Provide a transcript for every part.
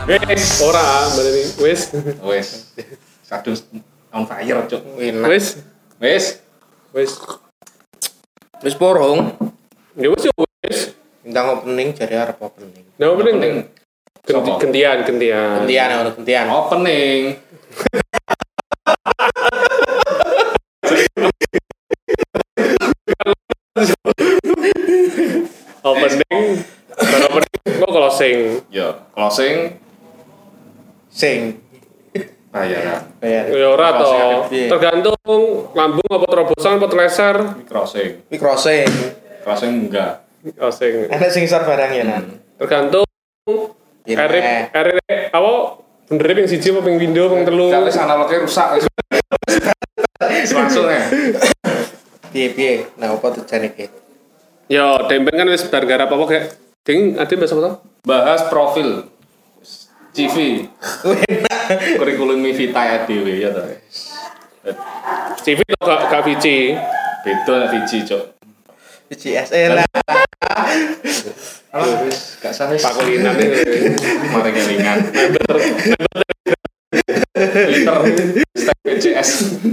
Wes, ora berarti. Wes. Kadung on fire, Cuk. Wes. Wis porong. Ya wes. Ndang opening jadi arep opening. Nah, opening. Gantian. Gantian. Opening. Opening. Kok closing. Ya, closing Sing. bayar. Bayar. Ya ora to. Piye? Tergantung lambung apa terobosan apa teleser. Crossing. Iki crossing. Crossing enggak. Closing. Enak sing isor barang ya, Nan. Tergantung Ya, Erip apa bener ping 1 apa ping pindho ping 3. Kalau analognya rusak. Langsung ya. Piye? Nah, apa tujuan iki? Ya, dempen kan wis bar garap apa kayak ding ade bahasa apa to? Bahas profil CV. Kurikulum Vita ya dhewe ya ta. CV to gak VC. Beda nek VC, Cuk. CSE lah. Wis gak sah wis. Pakulinan iki. Mari kelingan. Twitter step PCS.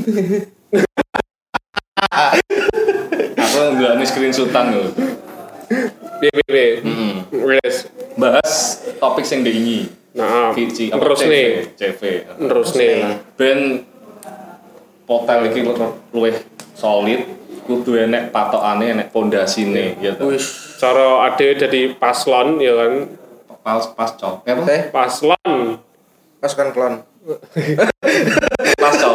Aku nggak screenshotan lho. Piye. Wes. Bahas topik sing diingi. Nah, VC terus nih. CV. Terus nih. Ben hotel iki luwih solid, kudu enek patokane, enek pondasine ya to. Wis. Cara ade dadi paslon ya kan. Pas cok. Apa? Paslon. Pasukan klon. Pas cok.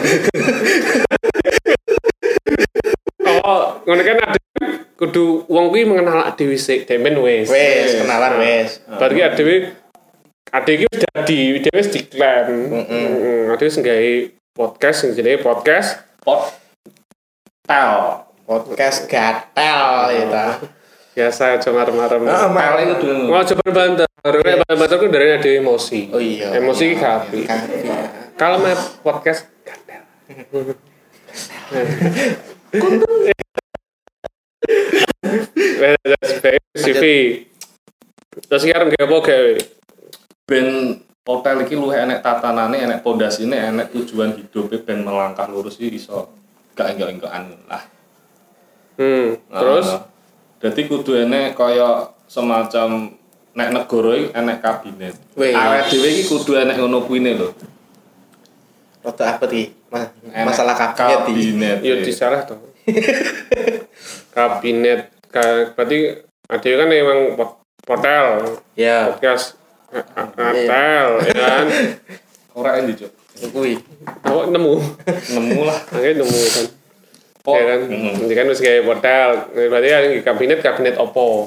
Oh, ngono kan ade kudu wong kuwi mengenal dhewe sik, demen wis. Wis, kenalan wis. Berarti ade iki wis dadi dhewe wis diklaim. Ade wis nggawe podcast sing jenenge podcast Podcast gatel ya ta. biasa aja marem-marem. Pel itu dulu. Mau coba banter. Nek banter ku dari ada emosi. Oh iya. Emosi ki kapi. Kalau mau podcast gatel. CV. Terus sekarang gak apa gawe? Ben hotel iki luwih enek tatanane, enek pondasine, enek tujuan hidupe ben melangkah lurus iki iso gak enggak-enggakan lah. Terus dadi kudu enek kaya semacam nek negara iki enek kabinet. Awake dhewe iki kudu enek ngono kuwine lho. Rada apa iki? Masalah kabinet. Ya disalah toh. Kabinet berarti ada kan emang hotel. Ya. Podcast hotel ya kan. Ora endi, Cuk. Kuwi. Awak nemu Nemu lah. akhirnya nemu kan. Ya kan. Ini kan wis kayak hotel. Berarti kan kabinet opo?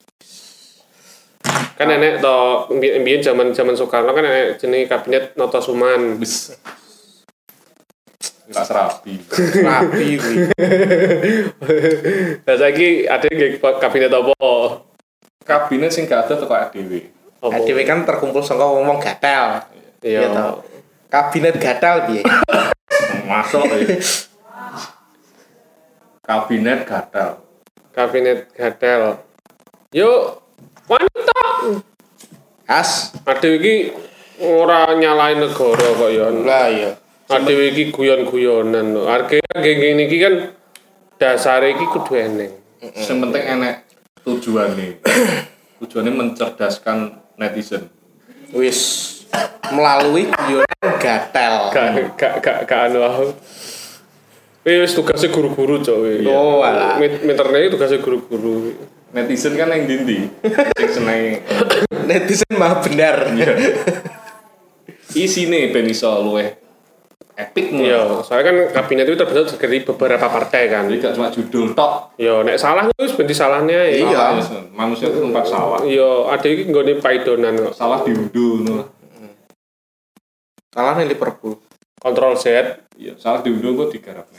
Kan enek to mbiyen zaman Soekarno kan enek jenenge kabinet Notosuman. Wis. Gak serapi. Rapi kuwi. Lah saiki ada kabinet opo? Kabinet sing gak ada teko dhewe. Dhewe kan terkumpul saka wong gatel. Iya toh. Kabinet gatel piye? Masuk ya. Kabinet gatal. Kabinet gatel. Yo wanita. As. Ade iki ora nyalain negara kok ya. Lah iya. Ade iki guyon-guyonan lho. Harga geng-geng iki kan dasare iki kudu eneng. Sing penting enek tujuane. Tujuane mencerdaskan netizen. Wis melalui guyonan gatel. Gak anu aku. Wis tugasnya guru-guru cok. Oh alah. Meterne tugasnya guru-guru. Netizen kan yang dindi. Sing seneng Netizen mah benar. isine ben iso luwih epic mu. Iya, soalnya kan kabinet itu terbentuk dari beberapa partai kan. Jadi gak cuma judul tok. Yo nek salah wis ben disalahne ae. Iya. Manusia itu tempat salah. Yo ada iki nggone paidonan kok. Salah diunduh ngono. Salah nih Liverpool. Kontrol Z. Iya, salah diunduh kok digarapne.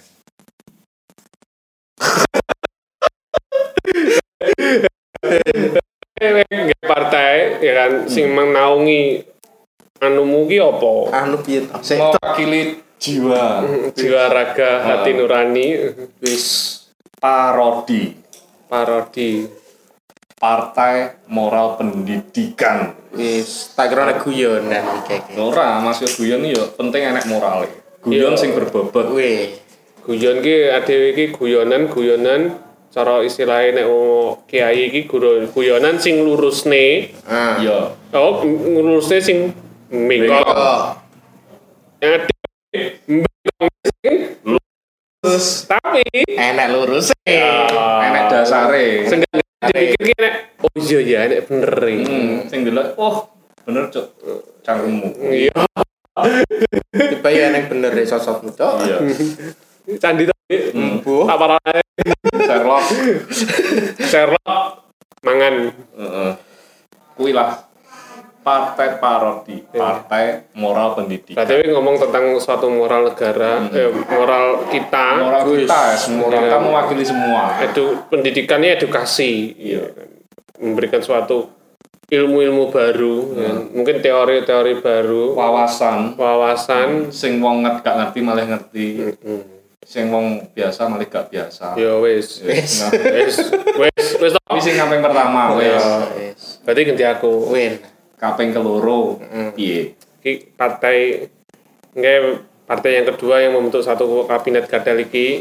Nggak partai ya kan sing menaungi anumu ki apa? Anu piye to? Sing Mewakili jiwa. Jiwa raga hati nurani wis Parodi. parodi. Partai Moral Pendidikan. Wis tak kira nek guyonan iki. Ora, maksud guyon iki yo penting enek morale. Guyon sing berbobot. Wih. Guyon ki adewe iki guyonan cara istilahnya nek kiai iki guyonan sing lurusne. Iya. Oh, lurusne sing mingkok. Terus Tapi enek lurus Enek dasare. seenggaknya dipikir ki nek oh iya ya nek bener iki. Sing delok, oh bener cuk. Cangkemmu. Iya. tiba ya enek bener sosokmu cok. Iya. Candi tapi Bu. tak parane Sherlock. Sherlock mangan. Heeh. Kuwi lah partai parodi, partai moral pendidikan. Berarti ngomong tentang suatu moral negara, moral kita, Moral kita, moral Iya. kita mewakili semua. pendidikannya edukasi, iya kan. Memberikan suatu ilmu-ilmu baru, kan. Mungkin teori-teori baru, wawasan, Sing wong gak ngerti malah ngerti. Sing wong biasa malah gak biasa. ya wes, Nah, wes, Ini sing kaping pertama wes. Wis. berarti ganti aku. Win. Kaping keloro piye? Ki partai, yang kedua yang membentuk satu kabinet gadal iki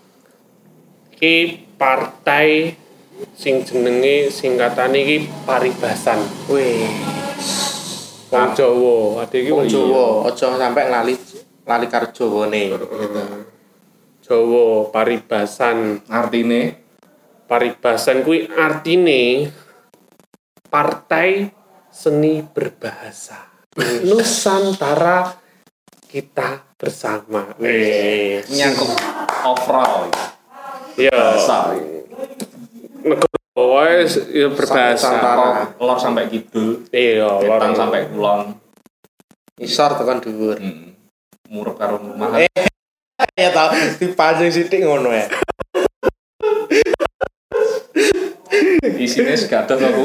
partai sing jenenge singkatane iki Paribasan. Wih. Wong Jawa, ade iki Wong Jawa aja sampe lali karo Jawane. Jawa Paribasan. Artine Paribasan kuwi artine partai seni berbahasa. Nusantara kita bersama. nyangkut overall Ya, bahasa. negara wae ya berbahasa. Nusantara. Lor sampai kidul, Iya, wetan lorong sampai kulon. Isor tekan dhuwur. Murep karo rumahan. Ya tau dipancing sithik ngono ya. Isine segadoh aku.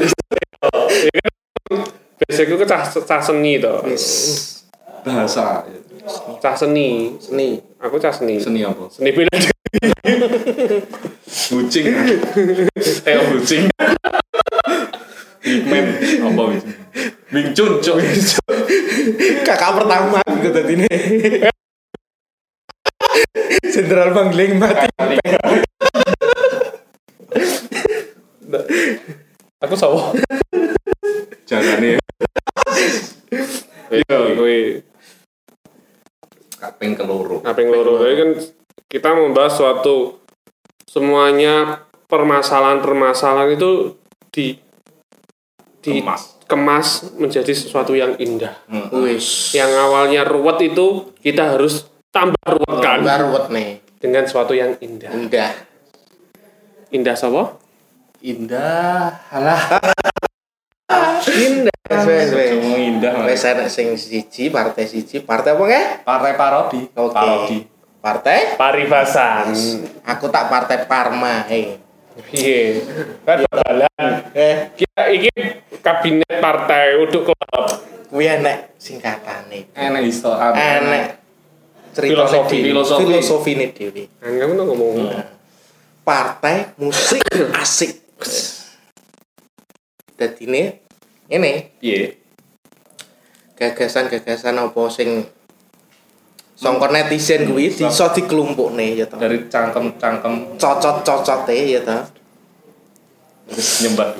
Biasanya ku cah seni to. Wis. Bahasa. Cah seni. Seni. Aku cah seni. Seni apa? Seni bela diri. Kucing. Teo kucing. Pigmen apa itu? Wing Chun, cuk. Kakak pertama aku dadine. Jenderal Mangling mati. Aku sawo. Jarane Iya, kuwi kaping keloro. kaping loro. Jadi kan kita membahas suatu semuanya permasalahan-permasalahan itu dikemas menjadi sesuatu yang indah. Wis. Yang awalnya ruwet itu kita harus tambah ruwetkan Baruwet nih. dengan sesuatu yang indah. Indah. Indah sapa? Indah. Alah. Indah. Wes wes. Ngomong indah. Wes enek sing siji, partai apa nge? Partai parodi. Oke. Parodi. Partai? Paribasan. Aku tak partai Parma. Piye? Kan bal-balan. Kita iki kabinet partai uduk klub. Kuwi enek singkatane. Enak iso. Enek cerita filosofine dhewe. Kamu tuh ngomong. Partai musik asik. Dadine ini Piye? gagasan-gagasan apa sing sangka netizen kuwi iso dikelompokne ya ta. Dari cangkem-cangkem Cocot-cocote ya ta. terus nyembah.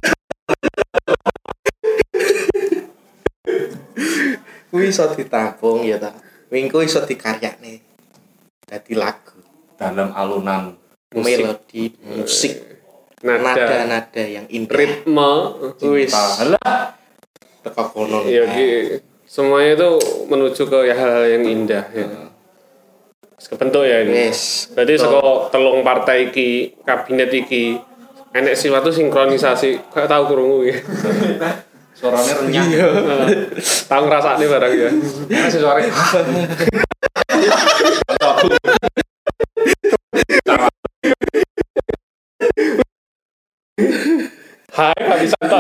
Kuwi iso ditampung ya ta. Wingko iso dikaryakne dadi lagu, Dalam alunan melodi, musik, nada-nada yang indah. ritme Wis Halah. teko kono. ya semuanya itu menuju ke hal-hal yang indah ya. Kebentuk ya ini. Wis. Berarti saka telung partai iki, kabinet iki enek suatu sinkronisasi. Kayak tahu krungu ya. Suaranya renyah. Tahu ngrasakne barang ya. Enak sih suaranya. Hai, Kak Santo.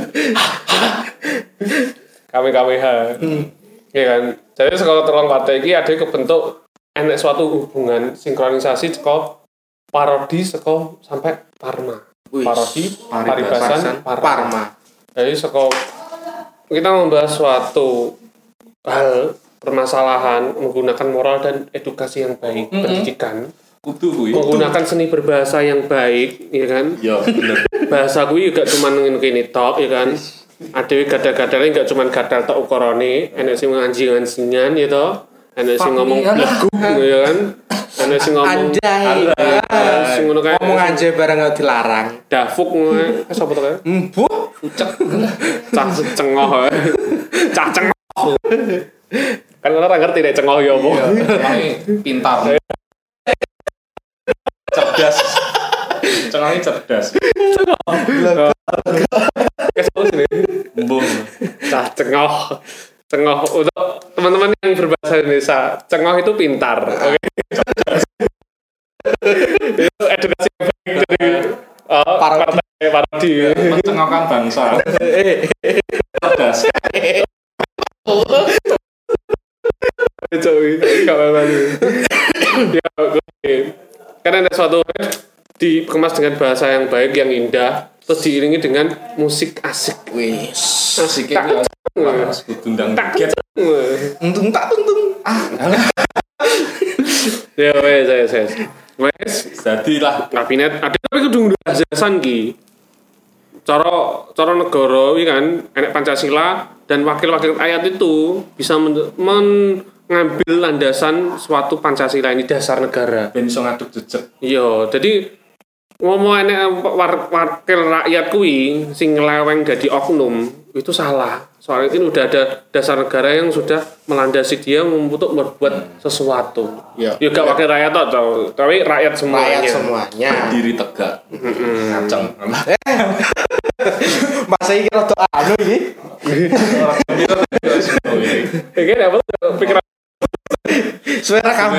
Kami ha. Ya kan. Jadi saka telung partai iki ada kebentuk enek suatu hubungan sinkronisasi saka parodi saka sampai Parma. parodi, Paribasan, Parma. Jadi kita membahas suatu hal permasalahan menggunakan moral dan edukasi yang baik, pendidikan, Kudu kuwi. menggunakan seni berbahasa yang baik, ya kan? Ya bener. Bahasa kuwi gak cuma ngene kene tok, ya kan? Adewe gadal-gadale gak cuma gadal tok ukurane, enek sing anjing-anjingan ya toh. Enek sing ngomong bleguk ya kan? Enek sing ngomong sing ngono kae. Ngomong aja bareng gak dilarang. Dafuk ngono. Sapa to kae? Mbuh. Ucek. Cah cengoh. Cah cengoh. Kan orang ngerti nek cengoh ya apa. Cengohi pintar. Cerdas. Cengohi cerdas. Kesel sini. Embung. Cah cengoh. Cengoh untuk teman-teman yang berbahasa Indonesia, cengoh itu pintar. Oke. Itu edukasi yang baik dari parodi. Mencengokkan bangsa. Cerdas. Joey, ya, oke. Karena ada suatu dikemas dengan bahasa yang baik, yang indah, terus diiringi dengan musik asik. Wis. Asik iki undang get. Untung tak tuntung. Ya wes. Wes, Dadi lah kabinet ada tapi kudu ndajasan ki. Cara negara iki kan enek Pancasila dan wakil-wakil rakyat itu bisa mengambil landasan suatu Pancasila ini dasar negara. ben iso ngaduk jejeg. Iya, jadi ngomong enek wakil rakyat kuwi sing ngeleweng dadi oknum itu salah. Soalnya ini udah ada dasar negara yang sudah melandasi dia untuk berbuat sesuatu. Iya. Ya gak wakil rakyat toh, tapi rakyat semuanya. Rakyat semuanya. Diri tegak. Ngaceng. Masa iki rada anu iki. Iki dapat pikiran Suara kamu.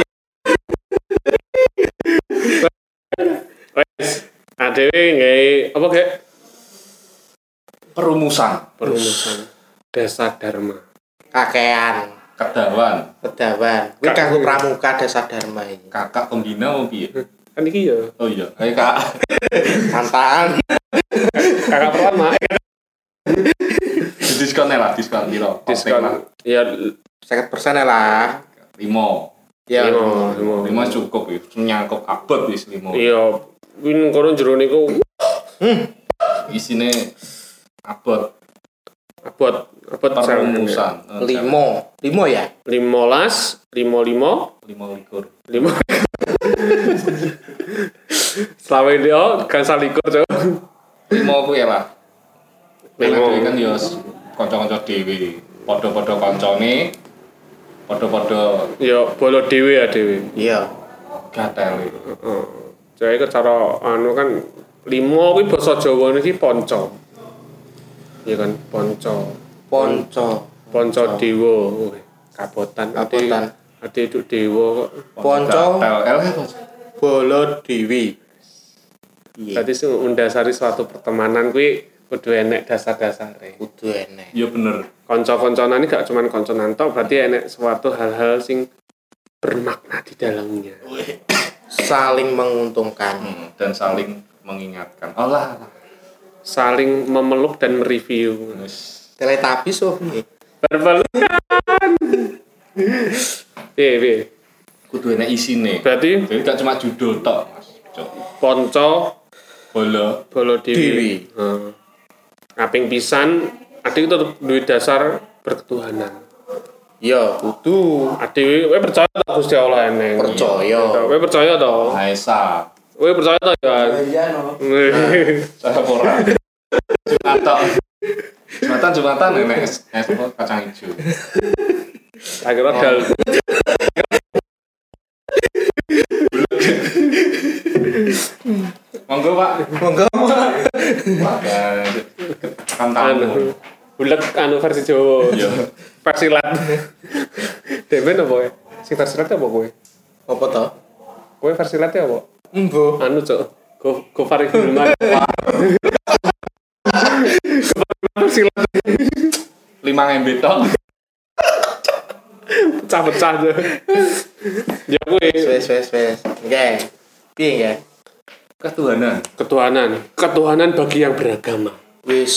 wes. Adewe nggae apa kayak Perumusan. dasar dharma. Kakean. Kedawan. Pedawan. Kuwi kanggo pramuka desa dharma iki. Kakak pembina apa piye? Kan iki ya. Oh iya, kayak kak. Santaan. Kakak pertama Diskon lah, diskon piro? diskon. Ya 50% lah. 5. Ya. lima. 5 cukup ya. Nyangkep abot wis 5. Iya, win kono jero niku Isine abot abot perumusan. 5 ya? 15 55 likur. Selama ini kan salikur coba 5 kuwi lah. Lima. Kan yo kanca-kanca dhewe. Padha-padha kancane. Padha-padha ya bolo dhewe ya dhewe. Iya. gatele. Heeh. Jadi cara anu kan 5 kuwi basa Jawa niki ponco. Iya kan ponco. Ponco dewa. Kabotan. Ade itu dewa kok. Ponco. Gatel. Bolo dewi. Iya. Berarti sing mendasari suatu pertemanan kuwi kudu enek dasar-dasare. Kudu enek. Iya bener. Kanca-kancanan iki gak cuman kancanan tok, berarti enek suatu hal-hal sing bermakna di dalamnya. Saling menguntungkan. Dan saling mengingatkan. Allah. Saling memeluk dan mereview. Teletubbies oh piye? Berpelukan. Piye. Kudu enek isine. Berarti Jadi gak cuma judul tok, Mas. ponco Bola. bolo dewi. Kaping pisan adik itu duwe dasar berketuhanan. Ya, kudu. Adik kowe percaya ta Gusti Allah eneng? Percaya. Kowe percaya ta? Maesa. Kowe percaya ta ya? Iya no. Saya ora. Jumatan enek es kacang hijau. Akhirnya dal. Monggo, Pak. Monggo. Kan tamu. Bulet anu versi Jawa. Iya. Versi lat. Demen apa kowe? Sing versi lat apa kowe? Apa to? Kowe versi lat apa? Embo. Anu cok. Go Farid Hilman. Versi lat 5 MB tok. pecah-pecah tuh. Ya kowe Wes. Nggih. Piye nggih? Ketuhanan bagi yang beragama. Yes,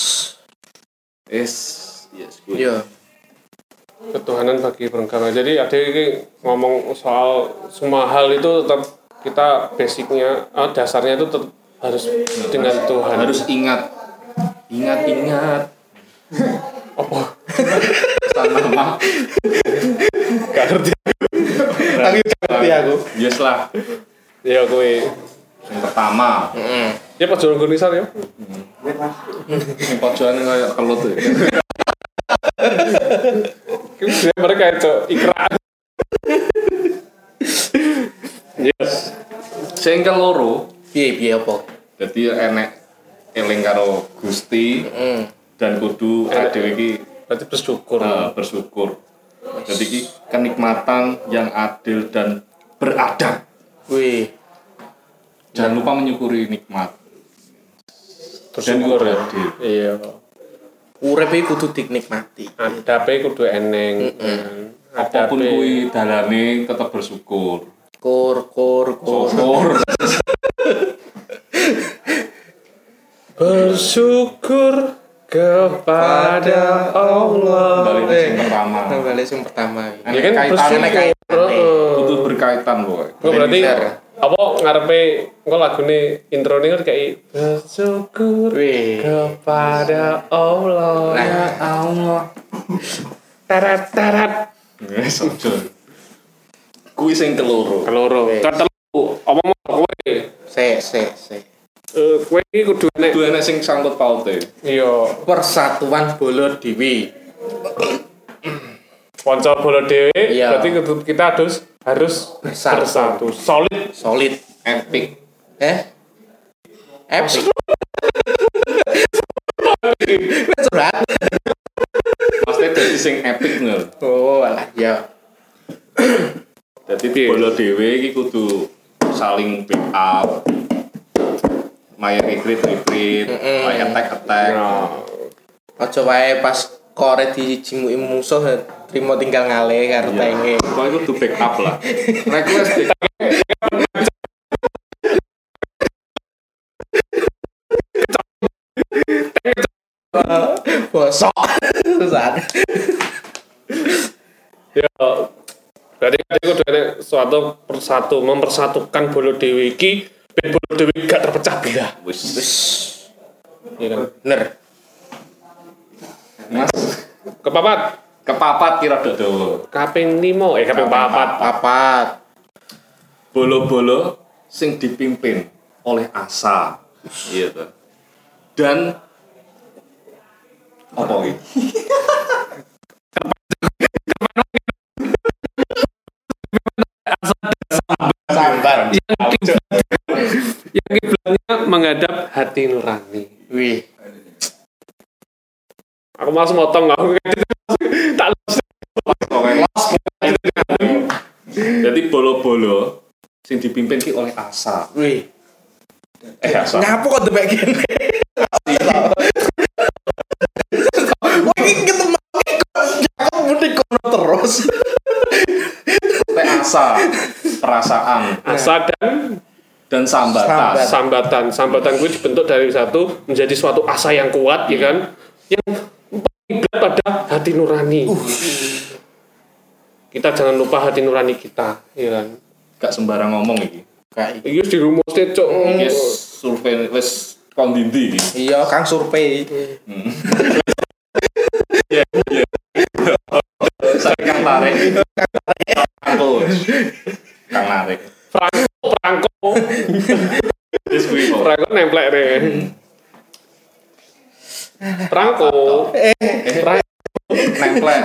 good. iya. Ketuhanan bagi beragama. Jadi ada ini ngomong soal semua hal itu tetap kita basicnya, dasarnya itu tetap harus dengan Tuhan. Harus ingat. Apa? Pesan mama. Gak ngerti. Tapi ngerti aku. Yes lah. Ya kowe. Yang pertama. Ya pas jalan gunisan ya. Yang pojokan kayak kelut tuh. Mereka itu ikrar. Yes. Sing keloro, Piye apa? dadi enek eling karo Gusti dan kudu dhewe iki Berarti bersyukur. bersyukur. Jadi iki kenikmatan yang adil dan beradab. Wih, Jangan lupa menyukuri nikmat. Bersyukur ya. Adil. Iya. urip iki kudu dinikmati. Adape kudu eneng. Apapun kuwi dalane tetap bersyukur. Kur. Bersyukur kepada Allah. Balik sing pertama. Balik sing pertama. Ya kan bersyukur. Kudu berkaitan kok. Berarti apa ngarepe engko lagune introne kan kayak bersyukur kepada Allah. Ya Allah. Tarat. Wes ojo. Kuwi sing keloro. Ketelu omong kowe. Se. Kowe iki kudu nek Kudu enek sing sangkut paute. iya Persatuan Bolo Dewi. ponco bola dhewe Iya. berarti kita harus bersatu. Solid. Epic. Epic. Curhat. Maksudnya dadi sing epic ngono. Oh, alah ya. Dadi bola dhewe iki kudu saling backup. Main retreat, main attack. Aja wae pas kore dijimuki musuh trimo tinggal ngalih karo tenge. Kok itu kudu backup lah. Request Bosok. Susah. Ya berarti kudu ada suatu mempersatukan bola dhewe iki ben bola dhewe gak terpecah belah. wis. Iya kan? Bener. Mas, Kepapat kira dodo. kaping 5 kaping 4. Papat. Bolo-bolo sing dipimpin oleh asa. Iya tuh. Dan apa iki? Sambar. Yang kiblatnya menghadap hati nurani. Wih. Aku langsung motong aku tak Jadi bolo-bolo sing dipimpin ki oleh asa. Wih. Asa. Ngapo kok debek kene? Wah, iki ketemu aku mesti kono terus. Sampai asa, perasaan asa dan sambatan. Sambatan gue dibentuk dari satu menjadi suatu asa yang kuat, ya kan? Yang kiblat pada hati nurani. Kita jangan lupa hati nurani kita, ya kan? Gak sembarang ngomong iki. Kayak Iki wis dirumusne, Cuk. Wis survei wis kondindi iki. iya Kang survei. Saya Kang Tarik. Kang Tarik. Perangko. Wis kuwi kok. Perangko nemplek deh. Perangko. Nemplek.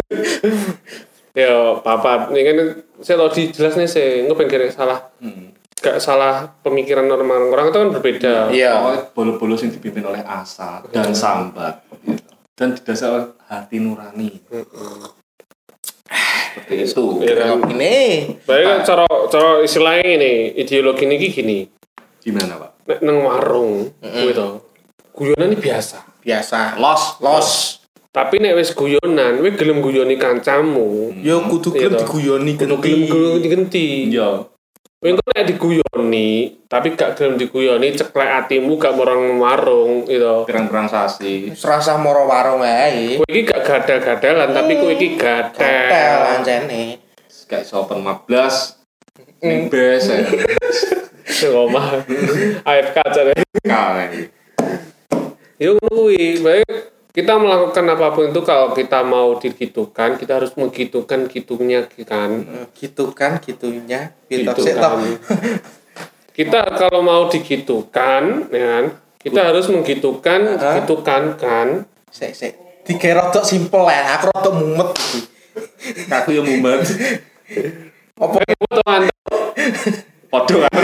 Ya, papat. Ini kan saya tau dijelas nih saya nggak pengen salah. Gak salah pemikiran orang itu kan berbeda. Iya. Pokoknya bolo-bolo sing dipimpin oleh asa dan sambat gitu. Dan didasari oleh hati nurani. Seperti itu. Ya kan? Ini Baik cara istilahnya ini ideologi ini gini. Gimana, Pak? Nek nang warung gitu. Guyonan ini biasa. los. Tapi nek wis guyonan, kowe gelem guyoni kancamu. Yo kudu gelem diguyoni Kudu gelem genti. Iya. Kowe engko nek diguyoni, tapi gak gelem diguyoni, ceklek atimu gak morong warung gitu. Pirang-pirang sasi. Serasa moro warung wae. Kowe iki gak gadal-gadalan, tapi kowe iki Gatel gadel. ancene. Kayak iso open 15 ning bes ya. Sing omah. AFK jare. Kae. Yo ngono kuwi, baik kita melakukan apapun itu kalau kita mau digitukan, kita harus menggitukan gitunya kan. Gitu kan gitunya. Gitu Sik kan. toh. Kita kalau mau digitukan, ya kan, kita harus menggitukan, gitukan kan. Sik. Dikira rodok simpel ya, aku rodok mumet iki. Aku yo mumet. Apa Foto Anda Padha kan.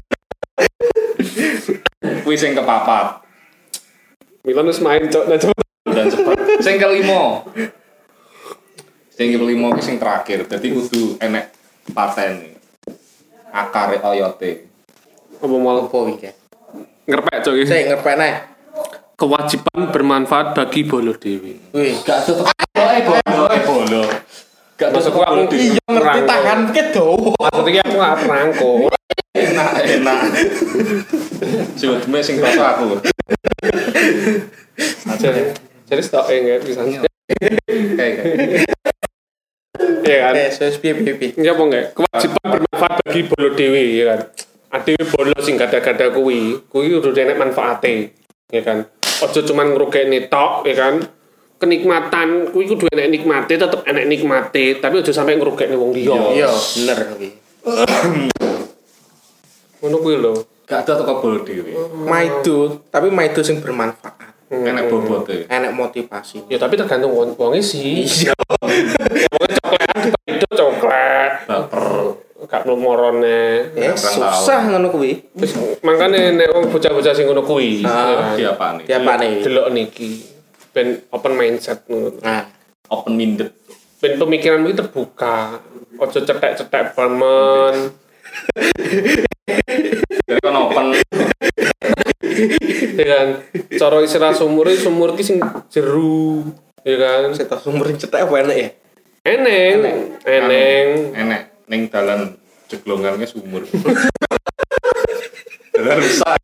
Kuwi sing kepapat. Milan wis main cok, nah cepet. Dan cepat. Sing kelima. Sing kelima ki sing terakhir. Dadi kudu enek paten. Akare oyote. Apa mau opo iki? ngerpek cok iki. Sik ngerpekne. Kewajiban bermanfaat bagi bolo dewi. Wih, Gak tutup bolo. Gak Maksudku tutup aku bolo di iya ngerti tangan ke dawa. Maksudnya aku gak perangko. enak. Cuma sing rasa aku. Jadi stok ya bisa. Kayak. Iya kan? Wis piye. Iya apa enggak? Kewajiban bermanfaat bagi bolo dewi ya kan. Adewe bolo sing gada-gada kuwi udah enek manfaate ya kan. Ojo cuman ngrugekne tok ya kan. Kenikmatan kuwi kudu enek nikmate, tetep enek nikmate, tapi ojo sampai ngrugekne wong liya. Iya, bener kuwi. Ngono kuwi lho. Gak ada toko bolo dhewe. Maido, tapi maido sing bermanfaat. Enek bobote. Enek motivasi. Ya tapi tergantung wonge sih. Iya. Wonge coklat itu coklat. Baper. Gak mlumorone. Susah ngono kuwi. Wis mangkane nek wong bocah-bocah sing ngono kuwi Diapane? Diapane? delok niki ben open mindset ngono. Nah, Open minded. Ben pemikiranmu itu terbuka. Ojo cetek-cetek banget. Jadi kan open. Ya kan. Cara istilah sumur ki sing jeru. Ya kan. setok sumur cetek apa enek ya? Eneng. Enek ning dalan jeglongannya sumur. Dalan rusak.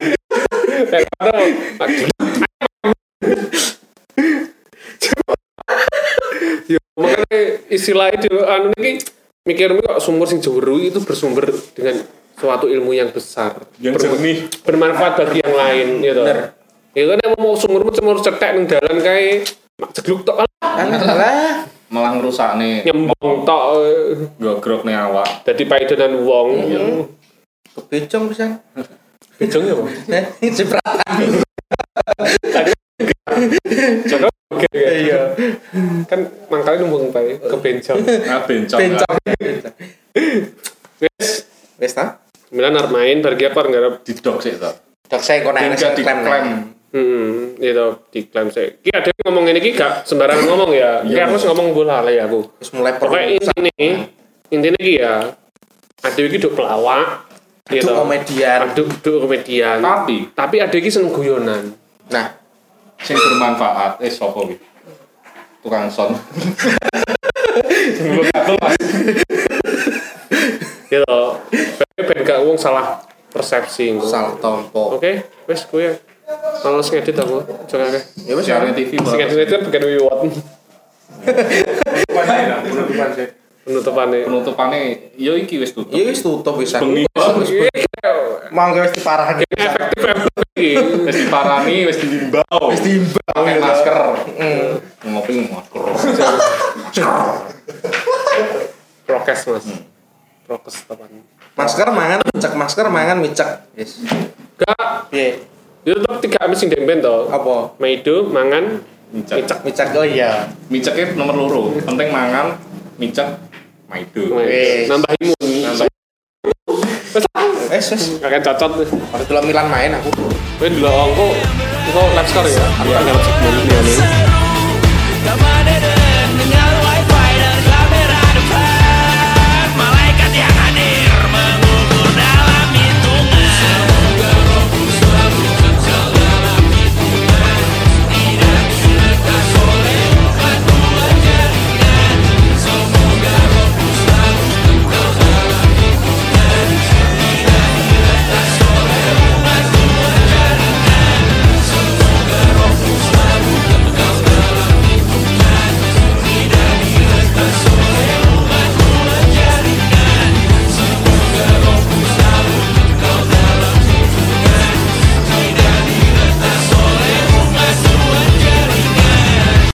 Ya makanya istilah itu anu niki mikirmu kok sumur sing jeru itu bersumber dengan suatu ilmu yang besar. Yang jernih. Bermanfaat bagi yang lain gitu. Ya kan mau sumurmu cuma cetek ning dalan kae mak jegluk tok Alah. Malah ngerusakne nyembong tok gogrokne awak. dadi paidonan wong. Kebecong pisan. Bejong ya, Pak. Cipratan. Coba oke. Iya. Kan mangkale numpung bae ke bencong. Ah bencong. Bencong. Wes, Wes ta? Milan arep main bar apa ngarep Didok sik to. Dok saya kok nek Tinggal diklaim. itu diklaim sik. Ki ada ngomong ini ki gak sembarangan ngomong ya. Ki aku wis ngomong bola le aku. Wis mulai Pokoknya intine ki ya ada iki duk pelawak gitu. Duk komedian. Duk komedian. Tapi ada iki seneng guyonan. Nah, Sing bermanfaat. Sapa kuwi? Tukang son. Gitu. Ben gak wong salah persepsi engko. salah tompo. Oke, wes kuwi. Males ngedit aku. Coba akeh. Ya wis Siaran TV. Sing ngedit itu bukan wiwat. penutupan sih. Penutupane. Ya iki wis tutup. Iya wis tutup pisan. Bengi. Mangga wis diparani. Efektif iki. Wis diparani, wis diimbau. Wis timbang Pakai masker. Ngopi masker. Prokes, Mas. Prokes tepan. Masker mangan micek, masker mangan micek. Yes. Gak, Piye? itu tetep 3 amis sing demben to. Apa? Maido mangan Micek. Micek oh iya. Miceknya nomor loro. Penting mangan, micek, maido. Wes. nambah imun. Wes wes. Akan cocot. Pada dulu Milan main aku. Kowe ndelok engko live score ya. Aku tanggal 10 Juni.